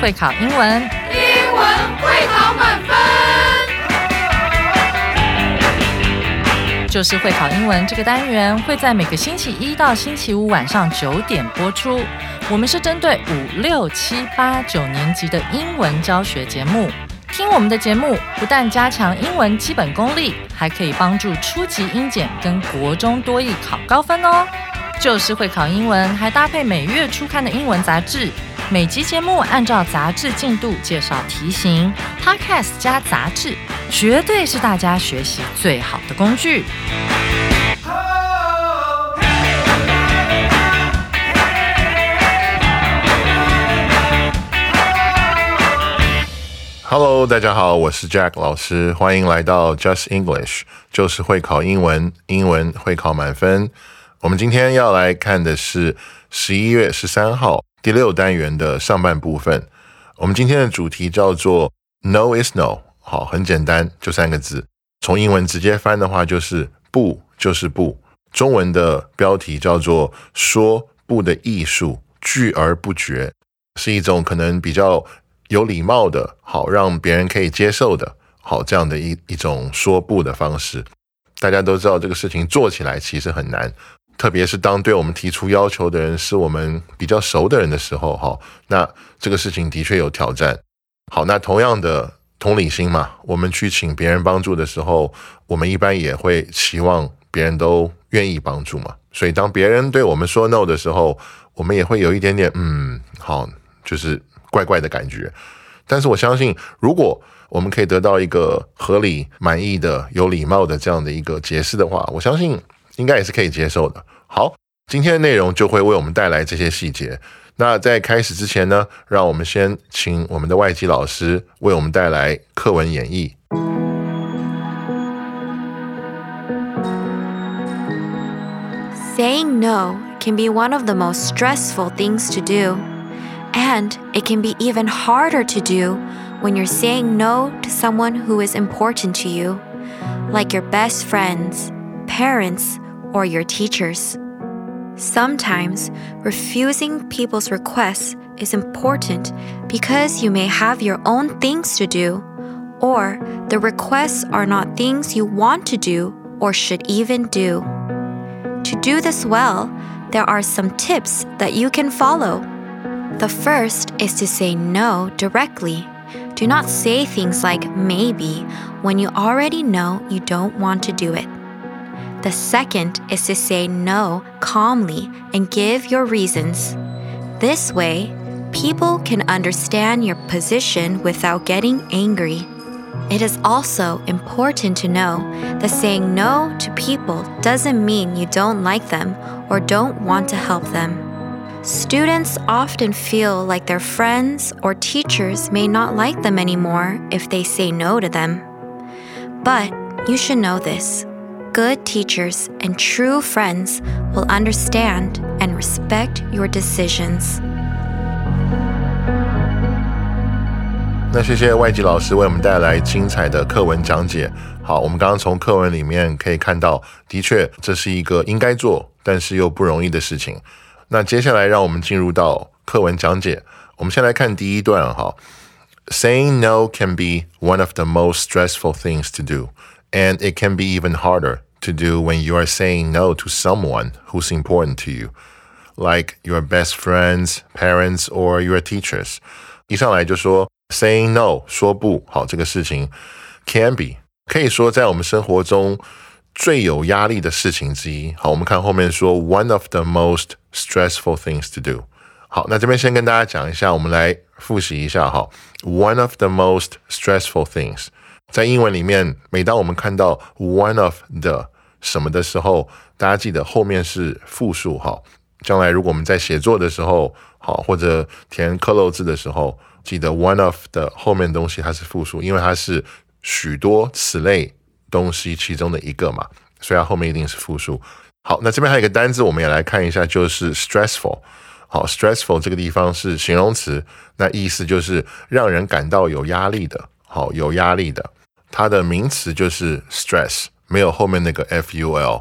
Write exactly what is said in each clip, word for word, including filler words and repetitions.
会考英文， 英文会考满分。 就是会考英文这个单元会在每个星期一到星期五晚上九点播出。我们是针对五六七八九年级的英文教学节目。听我们的节目，不但加强英文基本功力，还可以帮助初级英检跟国中多益考高分哦。就是会考英文，还搭配每月初刊的英文杂志。每集节目按照杂志进度介绍题型 ，Podcast 加杂志，绝对是大家学习最好的工具。 Hello， 大家好，我是 Jack 老师，欢迎来到 Just English， 就是会考英文，英文会考满分。我们今天要来看的是十一月十三号第六单元的上半部分。我们今天的主题叫做 No is no， 好，很简单，就三个字。从英文直接翻的话就是不就是不。中文的标题叫做说不的艺术，拒而不决，是一种可能比较有礼貌的，好让别人可以接受的，好这样的一一种说不的方式。大家都知道这个事情做起来其实很难，特别是当对我们提出要求的人是我们比较熟的人的时候，哈，那这个事情的确有挑战。好，那同样的同理心嘛，我们去请别人帮助的时候，我们一般也会期望别人都愿意帮助嘛。所以当别人对我们说 no 的时候，我们也会有一点点嗯，好，就是怪怪的感觉。但是我相信，如果我们可以得到一个合理、满意的、有礼貌的这样的一个解释的话，我相信应该也是可以接受的。好，今天的内容就会为我们带来这些细节。那在开始之前呢，让我们先请我们的外籍老师为我们带来课文演绎。 Saying no can be one of the most stressful things to do, and it can be even harder to do when you're saying no to someone who is important to you, like your best friends, parents, or your teachers. Sometimes, refusing people's requests is important because you may have your own things to do, or the requests are not things you want to do or should even do. To do this well, there are some tips that you can follow. The first is to say no directly. Do not say things like maybe when you already know you don't want to do it. The second is to say no calmly and give your reasons. This way, people can understand your position without getting angry. It is also important to know that saying no to people doesn't mean you don't like them or don't want to help them. Students often feel like their friends or teachers may not like them anymore if they say no to them. But you should know this. Good teachers and true friends will understand and respect your decisions. 那谢谢外籍老师为我们带来精彩的课文讲解。好，我们刚刚从课文里面可以看到，的确这是一个应该做，但是又不容易的事情。那接下来让我们进入到课文讲解。我们先来看第一段哈。Saying no can be one of the most stressful things to do, and it can be even harder to do when you are saying no to someone who's important to you, like your best friends, parents, or your teachers. 一上来就说 saying no 说不，好，这个事情 can be 可以说在我们生活中最有压力的事情之一。好，我们看后面说 one of the most stressful things to do。 好，那这边先跟大家讲一下，我们来复习一下哈。one of the most stressful things， 在英文里面，每当我们看到 one of the 什么的时候，大家记得后面是复数哈。将来如果我们在写作的时候，好，或者填克漏字的时候，记得 one of 的后面的东西它是复数，因为它是许多此类东西其中的一个嘛，所以它后面一定是复数。好，那这边还有一个单字我们也来看一下，就是 stressful。 好， stressful 这个地方是形容词，那意思就是让人感到有压力的。好，有压力的，它的名词就是 stress， 没有后面那个 ful。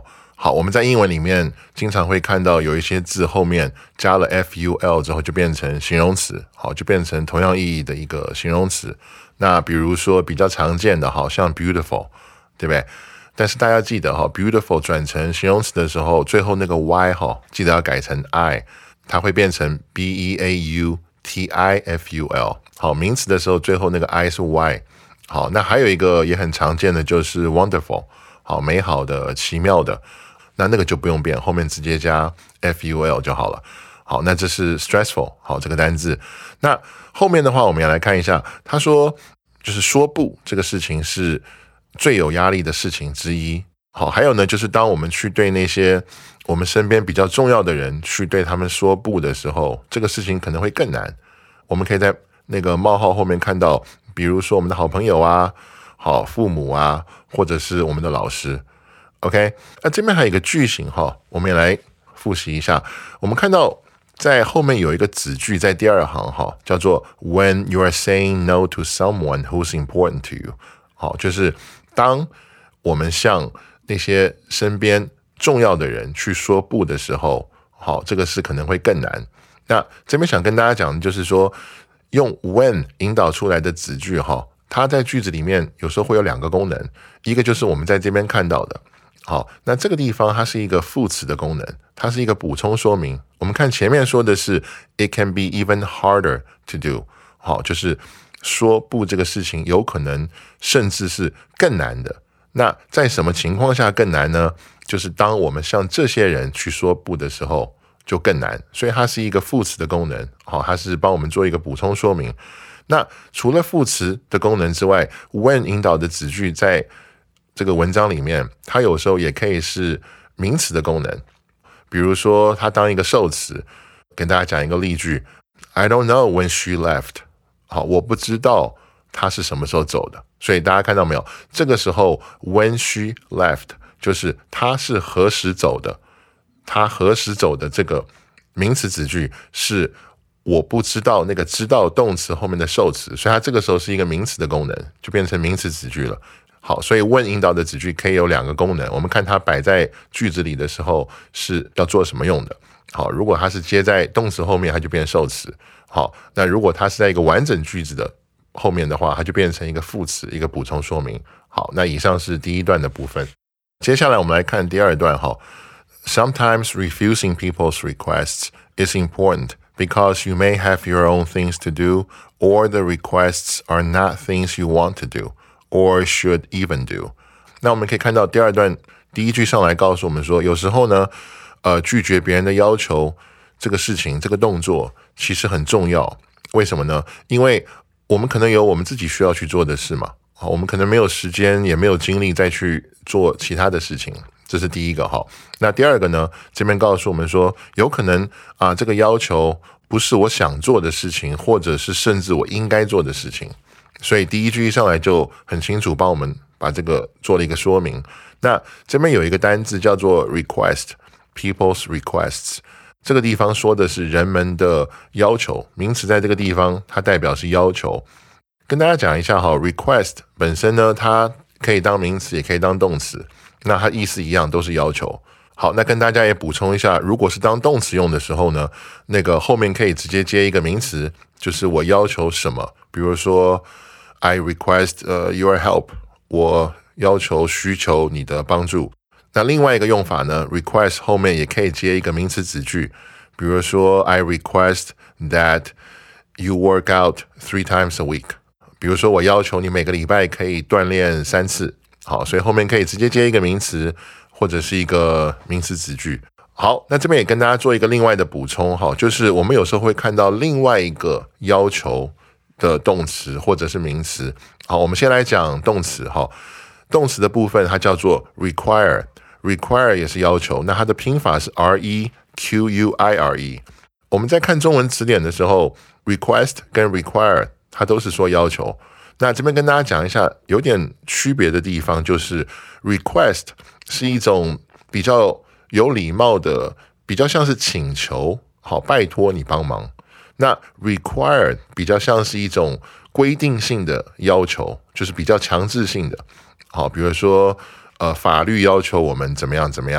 好，我们在英文里面经常会看到有一些字后面加了 ful 之后就变成形容词，好，就变成同样意义的一个形容词。那比如说比较常见的，好像 beautiful， 对不对？但是大家记得 beautiful 转成形容词的时候，最后那个 y 记得要改成 i， 它会变成 beautiful。好，名词的时候最后那个 i 是 y。好，那还有一个也很常见的就是 wonderful， 好，美好的、奇妙的。那那个就不用变，后面直接加 ful 就好了。好，那这是 stressful， 好，这个单字。那后面的话我们要来看一下，他说就是说不这个事情是最有压力的事情之一。好，还有呢就是当我们去对那些我们身边比较重要的人去对他们说不的时候，这个事情可能会更难。我们可以在那个冒号后面看到，比如说我们的好朋友啊，好，父母啊，或者是我们的老师。OK， 那这边还有一个句型哈，我们也来复习一下。我们看到在后面有一个子句，在第二行哈，叫做 When you are saying no to someone who's important to you， 好，就是当我们向那些身边重要的人去说不的时候，好，这个是可能会更难。那这边想跟大家讲的就是说，用 when 引导出来的子句哈，它在句子里面有时候会有两个功能，一个就是我们在这边看到的。好，那这个地方它是一个副词的功能，它是一个补充说明。我们看前面说的是 It can be even harder to do， 好，就是说不这个事情有可能甚至是更难的。那在什么情况下更难呢？就是当我们向这些人去说不的时候就更难，所以它是一个副词的功能，好，它是帮我们做一个补充说明。那除了副词的功能之外， when 引导的子句在这个文章里面，它有时候也可以是名词的功能。比如说它当一个受词，跟大家讲一个例句 I don't know when she left， 好，我不知道她是什么时候走的。所以大家看到没有，这个时候 when she left 就是她是何时走的，她何时走的这个名词子句是我不知道那个知道动词后面的受词，所以它这个时候是一个名词的功能，就变成名词子句了。好，所以 when 引导的子句可以有两个功能，我们看它摆在句子里的时候是要做什么用的。好，如果它是接在动词后面，它就变受词。好，那如果它是在一个完整句子的后面的话，它就变成一个副词，一个补充说明。好，那以上是第一段的部分。接下来我们来看第二段哈。Sometimes refusing people's requests is important because you may have your own things to do, or the requests are not things you want to do.Or should even do。 那我们可以看到第二段第一句上来告诉我们说，有时候呢，呃，拒绝别人的要求这个事情，这个动作其实很重要。为什么呢？因为我们可能有我们自己需要去做的事嘛，好，我们可能没有时间，也没有精力再去做其他的事情，这是第一个哈。那第二个呢，这边告诉我们说，有可能啊、呃，这个要求不是我想做的事情，或者是甚至我应该做的事情。所以第一句一上来就很清楚帮我们把这个做了一个说明。那这边有一个单字叫做 request， people's requests， 这个地方说的是人们的要求，名词在这个地方它代表是要求。跟大家讲一下哈 request 本身呢，它可以当名词也可以当动词，那它意思一样，都是要求。好，那跟大家也补充一下，如果是当动词用的时候呢，那个后面可以直接接一个名词，就是我要求什么，比如说I request、uh, your help， 我要求需求你的帮助。那另外一个用法呢 request 后面也可以接一个名词子句，比如说 I request that you work out three times a week， 比如说我要求你每个礼拜可以锻炼三次。好，所以后面可以直接接一个名词或者是一个名词子句。好，那这边也跟大家做一个另外的补充，就是我们有时候会看到另外一个要求的动词或者是名词。好，我们先来讲动词哈。动词的部分它叫做 require， require 也是要求，那它的拼法是 R E Q U I R E。 我们在看中文词典的时候 request 跟 require 它都是说要求。那这边跟大家讲一下有点区别的地方，就是 request 是一种比较有礼貌的，比较像是请求，好，拜托你帮忙。那 required 比较像是一种规定性的要求，就是比较强制性的。好，比如说呃，法律要求我们怎么样怎么样，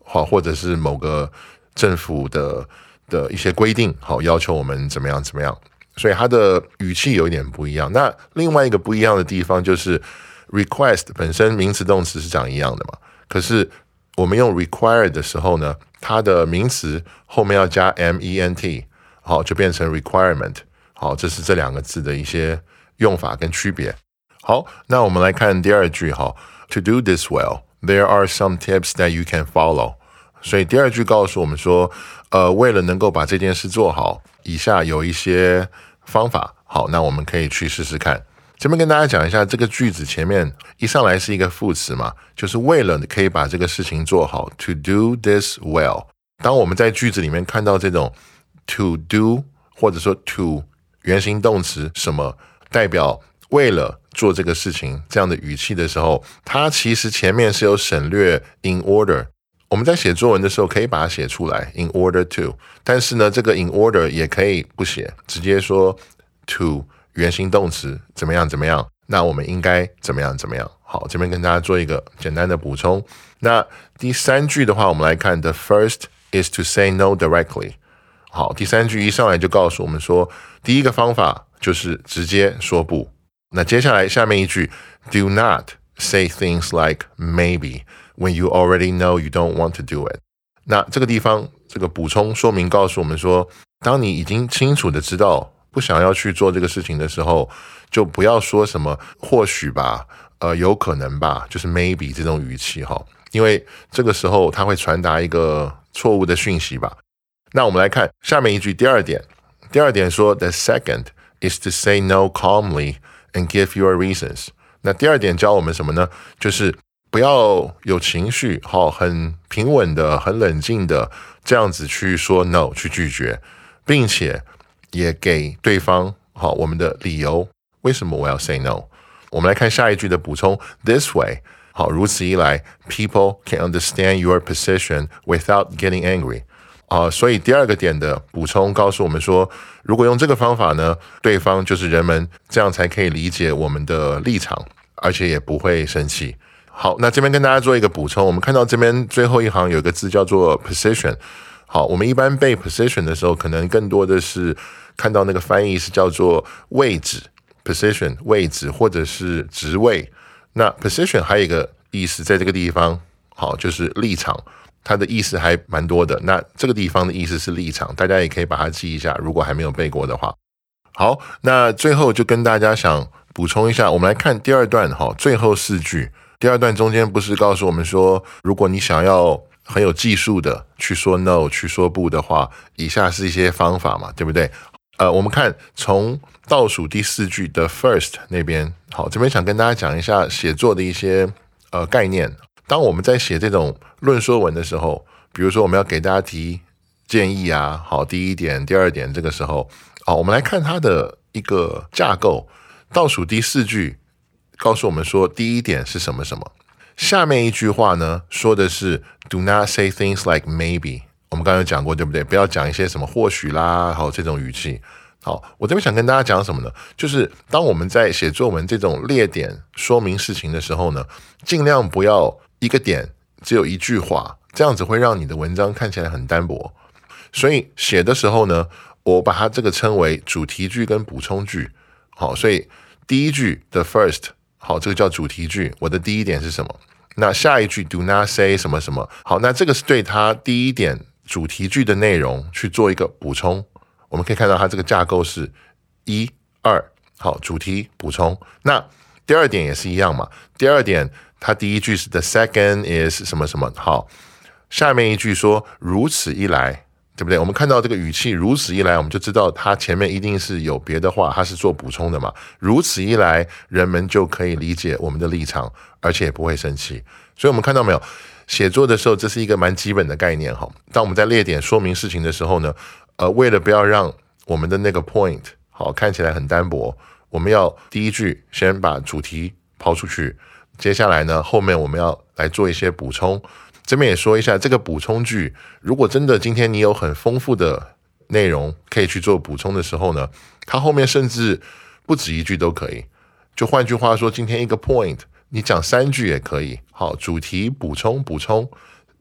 好，或者是某个政府的的一些规定，好，要求我们怎么样怎么样，所以它的语气有一点不一样。那另外一个不一样的地方就是 request 本身名词动词是长一样的嘛，可是我们用 require 的时候呢，它的名词后面要加 ment， 好，就变成 requirement。好，这是这两个字的一些用法跟区别。好，那我们来看第二句哈 ，To do this well, there are some tips that you can follow。所以第二句告诉我们说，呃，为了能够把这件事做好，以下有一些方法。好，那我们可以去试试看。这边跟大家讲一下，这个句子前面一上来是一个副词嘛，就是为了可以把这个事情做好 ，to do this well。当我们在句子里面看到这种 to do 或者说 to 原形动词什么代表为了做这个事情这样的语气的时候，它其实前面是有省略 in order。我们在写作文的时候可以把它写出来 in order to， 但是呢，这个 in order 也可以不写，直接说 to 原形动词怎么样怎么样，那我们应该怎么样怎么样。好，这边跟大家做一个简单的补充。那第三句的话，我们来看 The first is to say no directly。好，第三句一上来就告诉我们说，第一个方法就是直接说不。那接下来下面一句 Do not say things like maybe when you already know you don't want to do it。 那这个地方这个补充说明告诉我们说，当你已经清楚的知道不想要去做这个事情的时候，就不要说什么或许吧，呃，有可能吧，就是 maybe 这种语气哈，因为这个时候它会传达一个错误的讯息吧。那我们来看下面一句第二点，第二点说 The second is to say no calmly and give your reasons。 那第二点教我们什么呢？就是不要有情绪，好，很平稳的很冷静的这样子去说 no 去拒绝，并且也给对方好我们的理由，为什么我要 say no。 我们来看下一句的补充 This way， 好，如此一来 people can understand your position without getting angry。啊、呃，所以第二个点的补充告诉我们说，如果用这个方法呢，对方就是人们，这样才可以理解我们的立场，而且也不会生气。好，那这边跟大家做一个补充，我们看到这边最后一行有一个字叫做 position。好，我们一般背 position 的时候，可能更多的是看到那个翻译是叫做位置 position 位置或者是职位。那 position 还有一个意思在这个地方，好，就是立场。它的意思还蛮多的，那这个地方的意思是立场，大家也可以把它记一下，如果还没有背过的话。好，那最后就跟大家想补充一下，我们来看第二段哈，最后四句。第二段中间不是告诉我们说，如果你想要很有技术的去说 no 去说不的话，以下是一些方法嘛，对不对？呃，我们看从倒数第四句的 first 那边，好，这边想跟大家讲一下写作的一些呃概念。当我们在写这种论说文的时候，比如说我们要给大家提建议啊，好，第一点第二点，这个时候好，我们来看它的一个架构。倒数第四句告诉我们说第一点是什么什么，下面一句话呢说的是 Do not say things like maybe， 我们刚才有讲过对不对？不要讲一些什么或许啦，好，这种语气。好，我这边想跟大家讲什么呢？就是当我们在写作文这种列点说明事情的时候呢，尽量不要一个点只有一句话，这样子会让你的文章看起来很单薄。所以写的时候呢，我把它这个称为主题句跟补充句。好，所以第一句的 first， 好，这个叫主题句，我的第一点是什么？那下一句 do not say 什么什么。好，那这个是对它第一点主题句的内容去做一个补充。我们可以看到它这个架构是一二，好，主题补充。那第二点也是一样嘛，第二点它第一句是 the second is 什么什么，好，下面一句说如此一来，对不对？我们看到这个语气如此一来，我们就知道它前面一定是有别的话，它是做补充的嘛。如此一来，人们就可以理解我们的立场，而且也不会生气。所以我们看到没有，写作的时候这是一个蛮基本的概念哈。当我们在列点说明事情的时候呢，呃，为了不要让我们的那个 point 好看起来很单薄，我们要第一句先把主题抛出去，接下来呢，后面我们要来做一些补充。这边也说一下，这个补充句，如果真的今天你有很丰富的内容可以去做补充的时候呢，它后面甚至不止一句都可以。就换句话说，今天一个 point 你讲三句也可以。好，主题补充补充，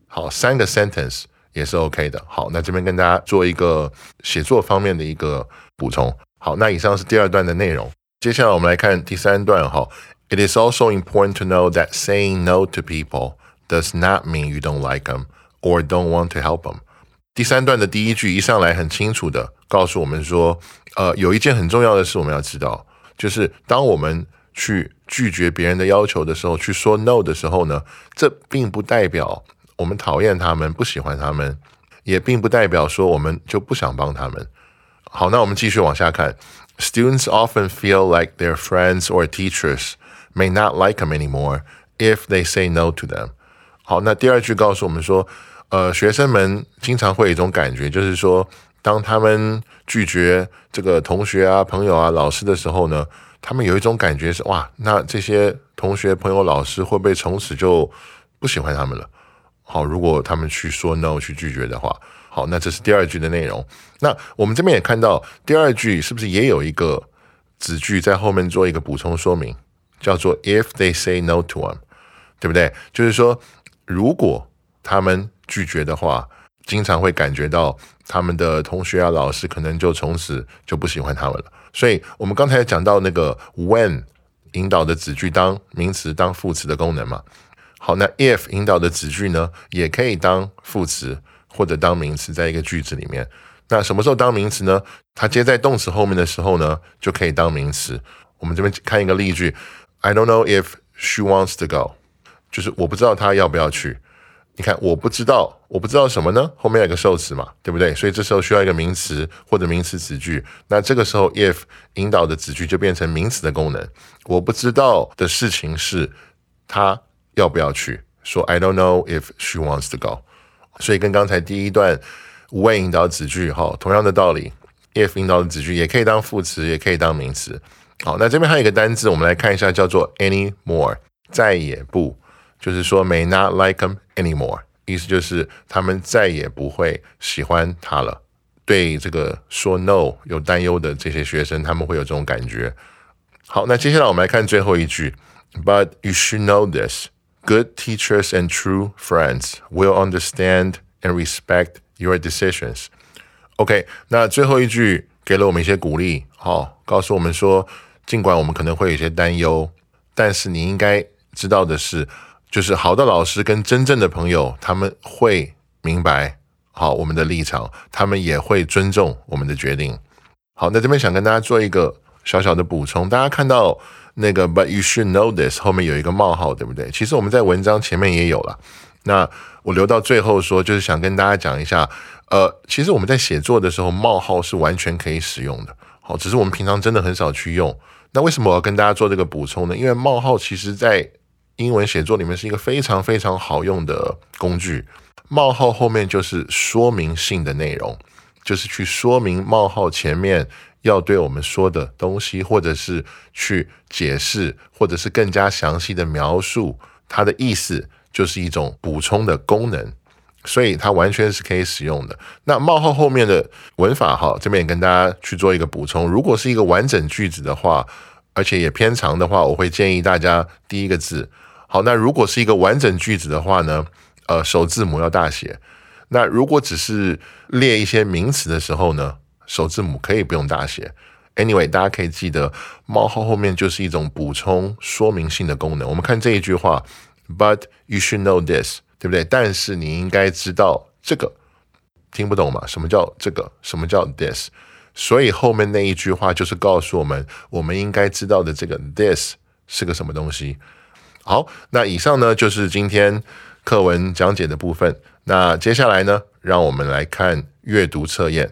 好，三个 sentence 也是 OK 的。好，那这边跟大家做一个写作方面的一个补充。好，那以上是第二段的内容。接下来我们来看第三段哈。It is also important to know that saying no to people does not mean you don't like them or don't want to help them. 第三段的第一句一上来很清楚的告诉我们说，呃，有一件很重要的事我们要知道，就是当我们去拒绝别人的要求的时候，去说 no 的时候呢，这并不代表我们讨厌他们，不喜欢他们，也并不代表说我们就不想帮他们。好，那我们继续往下看。Students often feel like their friends or teachers may not like them anymore if they say no to them. 好，那第二句告诉我们说，呃，学生们经常会有一种感觉，就是说，当他们拒绝这个同学啊、朋友啊、老师的时候呢，他们有一种感觉是，哇，那这些同学、朋友、老师会不会从此就不喜欢他们了？好，如果他们去说 no 去拒绝的话，好，那这是第二句的内容。那我们这边也看到第二句是不是也有一个子句在后面做一个补充说明，叫做 if they say no to them， 对不对？就是说，如果他们拒绝的话，经常会感觉到他们的同学啊、老师可能就从此就不喜欢他们了。所以我们刚才讲到那个 when 引导的子句当名词、当副词的功能嘛。好，那 if 引导的子句呢，也可以当副词或者当名词，在一个句子里面。那什么时候当名词呢？它接在动词后面的时候呢，就可以当名词。我们这边看一个例句 I don't know if she wants to go， 就是我不知道她要不要去。你看，我不知道，我不知道什么呢？后面有一个受词嘛，对不对？所以这时候需要一个名词或者名词子句。那这个时候 if 引导的子句就变成名词的功能。我不知道的事情是她要不要去，说 I don't know if she wants to go。 所以跟刚才第一段 when 引导子句同样的道理， if 引导的子句也可以当副词，也可以当名词。好，那这边还有一个单字我们来看一下，叫做 anymore， 再也不，就是说 may not like them anymore， 意思就是他们再也不会喜欢他了。对这个说 no 有担忧的这些学生，他们会有这种感觉。好，那接下来我们来看最后一句 But you should know this.Good teachers and true friends will understand and respect your decisions. OK， 那最后一句给了我们一些鼓励，好，告诉我们说，尽管我们可能会有一些担忧，但是你应该知道的是，就是好的老师跟真正的朋友，他们会明白好我们的立场，他们也会尊重我们的决定。好，那这边想跟大家做一个小小的补充，大家看到那个 But you should know this 后面有一个冒号，对不对？其实我们在文章前面也有了，那我留到最后说，就是想跟大家讲一下，呃，其实我们在写作的时候，冒号是完全可以使用的，好，只是我们平常真的很少去用。那为什么我要跟大家做这个补充呢？因为冒号其实在英文写作里面是一个非常非常好用的工具，冒号后面就是说明性的内容，就是去说明冒号前面要对我们说的东西，或者是去解释，或者是更加详细的描述它的意思，就是一种补充的功能，所以它完全是可以使用的。那冒号后面的文法哈，这边也跟大家去做一个补充。如果是一个完整句子的话，而且也偏长的话，我会建议大家第一个字。好，那如果是一个完整句子的话呢，呃，首字母要大写。那如果只是列一些名词的时候呢，首字母可以不用大写。Anyway， 大家可以记得冒号后面就是一种补充说明性的功能。我们看这一句话 But you should know this， 对不对？但是你应该知道这个，听不懂吗？什么叫这个？什么叫 this？ 所以后面那一句话就是告诉我们，我们应该知道的这个 this 是个什么东西。好，那以上呢就是今天课文讲解的部分。那接下来呢，让我们来看阅读测验。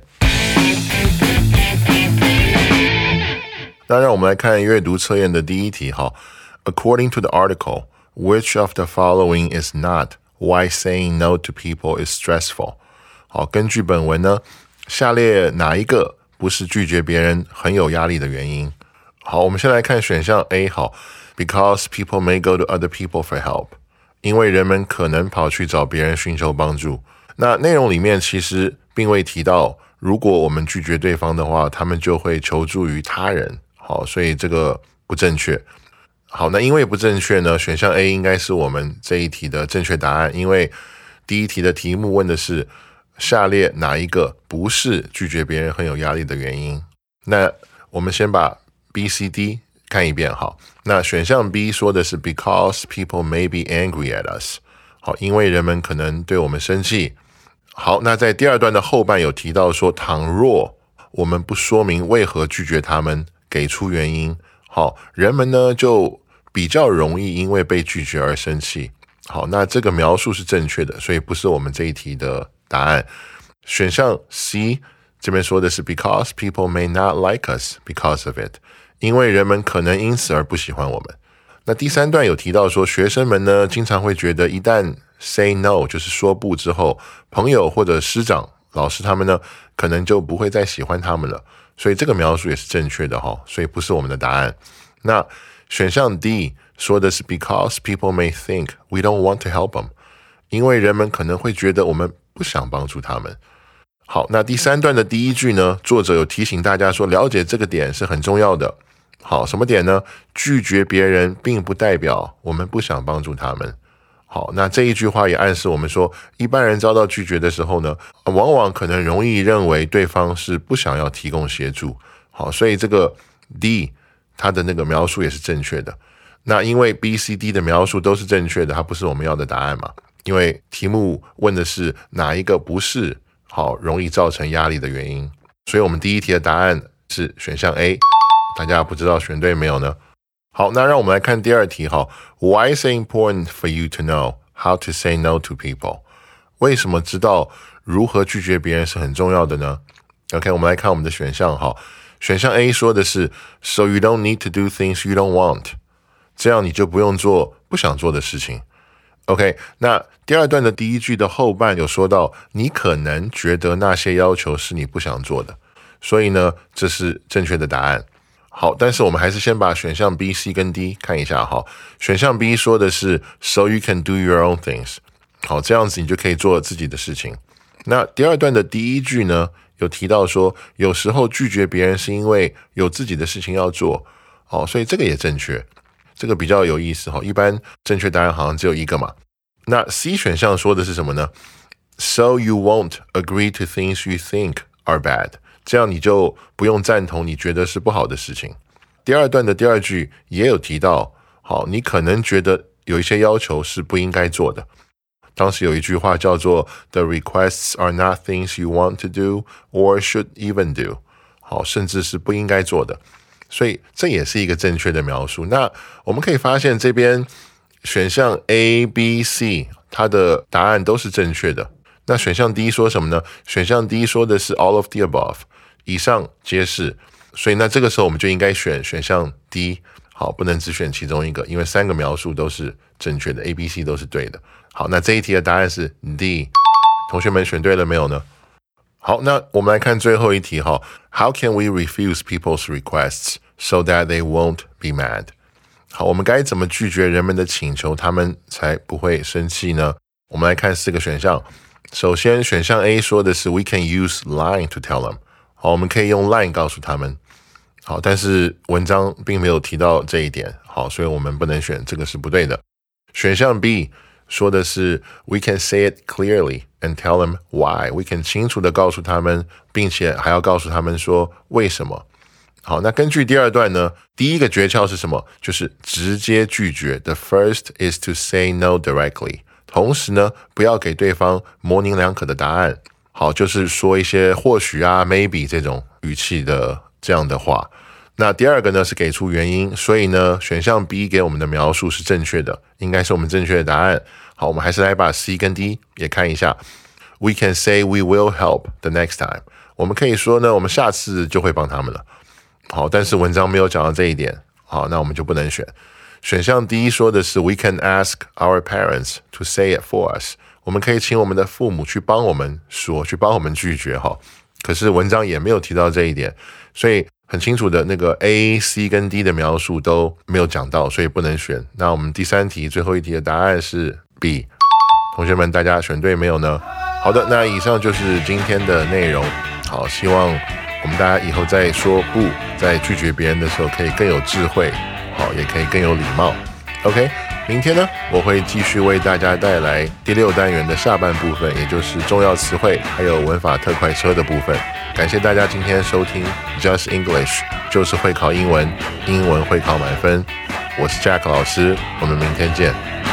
那让我们来看阅读测验的第一题哈。According to the article, which of the following is not why saying no to people is stressful? 好，根据本文呢，下列哪一个不是拒绝别人很有压力的原因？好，我们先来看选项 A 好 ，Because people may go to other people for help， 因为人们可能跑去找别人寻求帮助。那内容里面其实并未提到，如果我们拒绝对方的话，他们就会求助于他人。好，所以这个不正确。好，那因为不正确呢，选项 A 应该是我们这一题的正确答案，因为第一题的题目问的是下列哪一个不是拒绝别人很有压力的原因？那我们先把 B、C、D 看一遍。好，那选项 B 说的是 Because people may be angry at us。好，因为人们可能对我们生气。好，那在第二段的后半有提到说，倘若我们不说明为何拒绝他们，给出原因，好，人们呢就比较容易因为被拒绝而生气。好，那这个描述是正确的，所以不是我们这一题的答案。选项 C 这边说的是 Because people may not like us because of it， 因为人们可能因此而不喜欢我们。那第三段有提到说，学生们呢经常会觉得一旦 say no 就是说不之后，朋友或者师长老师他们呢可能就不会再喜欢他们了，所以这个描述也是正确的齁，所以不是我们的答案。那选项 D 说的是 Because people may think we don't want to help them， 因为人们可能会觉得我们不想帮助他们。好，那第三段的第一句呢，作者有提醒大家说，了解这个点是很重要的。好，什么点呢？拒绝别人并不代表我们不想帮助他们。好，那这一句话也暗示我们说，一般人遭到拒绝的时候呢，往往可能容易认为对方是不想要提供协助。好，所以这个 D 它的那个描述也是正确的。那因为 B、C、D 的描述都是正确的，它不是我们要的答案嘛？因为题目问的是哪一个不是好容易造成压力的原因，所以我们第一题的答案是选项 A。大家不知道选对没有呢？好，那让我们来看第二题哈。Why is it important for you to know how to say no to people？ 为什么知道如何拒绝别人是很重要的呢 ？OK， 我们来看我们的选项哈。选项 A 说的是 So you don't need to do things you don't want， 这样你就不用做不想做的事情。OK， 那第二段的第一句的后半有说到，你可能觉得那些要求是你不想做的，所以呢，这是正确的答案。好，但是我们还是先把选项 B、C 跟 D 看一下哈。选项 B 说的是 So you can do your own things， 好，这样子你就可以做自己的事情。那第二段的第一句呢，有提到说，有时候拒绝别人是因为有自己的事情要做，好，所以这个也正确。这个比较有意思哈，一般正确答案好像只有一个嘛。那 C 选项说的是什么呢？ So you won't agree to things you think are bad，这样你就不用赞同你觉得是不好的事情。第二段的第二句也有提到，好，你可能觉得有一些要求是不应该做的。当时有一句话叫做 The requests are not things you want to do or should even do， 好，甚至是不应该做的。所以这也是一个正确的描述。那我们可以发现这边选项 A、B、C 它的答案都是正确的。那选项 D 说什么呢？选项 D 说的是 all of the above， 以上皆是。所以那这个时候我们就应该选选项 D， 好，不能只选其中一个，因为三个描述都是正确的 ，A、B、C 都是对的。好，那这一题的答案是 D， 同学们选对了没有呢？好，那我们来看最后一题哈。How can we refuse people's requests so that they won't be mad？ 好，我们该怎么拒绝人们的请求，他们才不会生气呢？我们来看四个选项。首先，选项 A 说的是 We can use line to tell them。好，我们可以用 line 告诉他们。好，但是文章并没有提到这一点。好，所以我们不能选，这个是不对的。选项 B 说的是 We can say it clearly and tell them why。 We can 清楚的告诉他们，并且还要告诉他们说为什么。好，那根据第二段呢，第一个诀窍是什么？就是直接拒绝。The first is to say no directly。同时呢，不要给对方模棱两可的答案。好，就是说一些或许啊 maybe 这种语气的这样的话。那第二个呢是给出原因，所以呢选项 B 给我们的描述是正确的，应该是我们正确的答案。好，我们还是来把 C 跟 D 也看一下。We can say we will help the next time。我们可以说呢，我们下次就会帮他们了。好，但是文章没有讲到这一点。好，那我们就不能选。选项 D 说的是 We can ask our parents to say it for us。我们可以请我们的父母去帮我们说，去帮我们拒绝哈。可是文章也没有提到这一点，所以很清楚的那个 A、C 跟 D 的描述都没有讲到，所以不能选。那我们第三题最后一题的答案是 B。同学们，大家选对没有呢？好的，那以上就是今天的内容。好，希望我们大家以后在说不，在拒绝别人的时候可以更有智慧，好，也可以更有礼貌。OK， 明天呢，我会继续为大家带来第六单元的下半部分，也就是重要词汇还有文法特快车的部分。感谢大家今天收听 Just English， 就是会考英文，英文会考满分。我是 Jack 老师，我们明天见。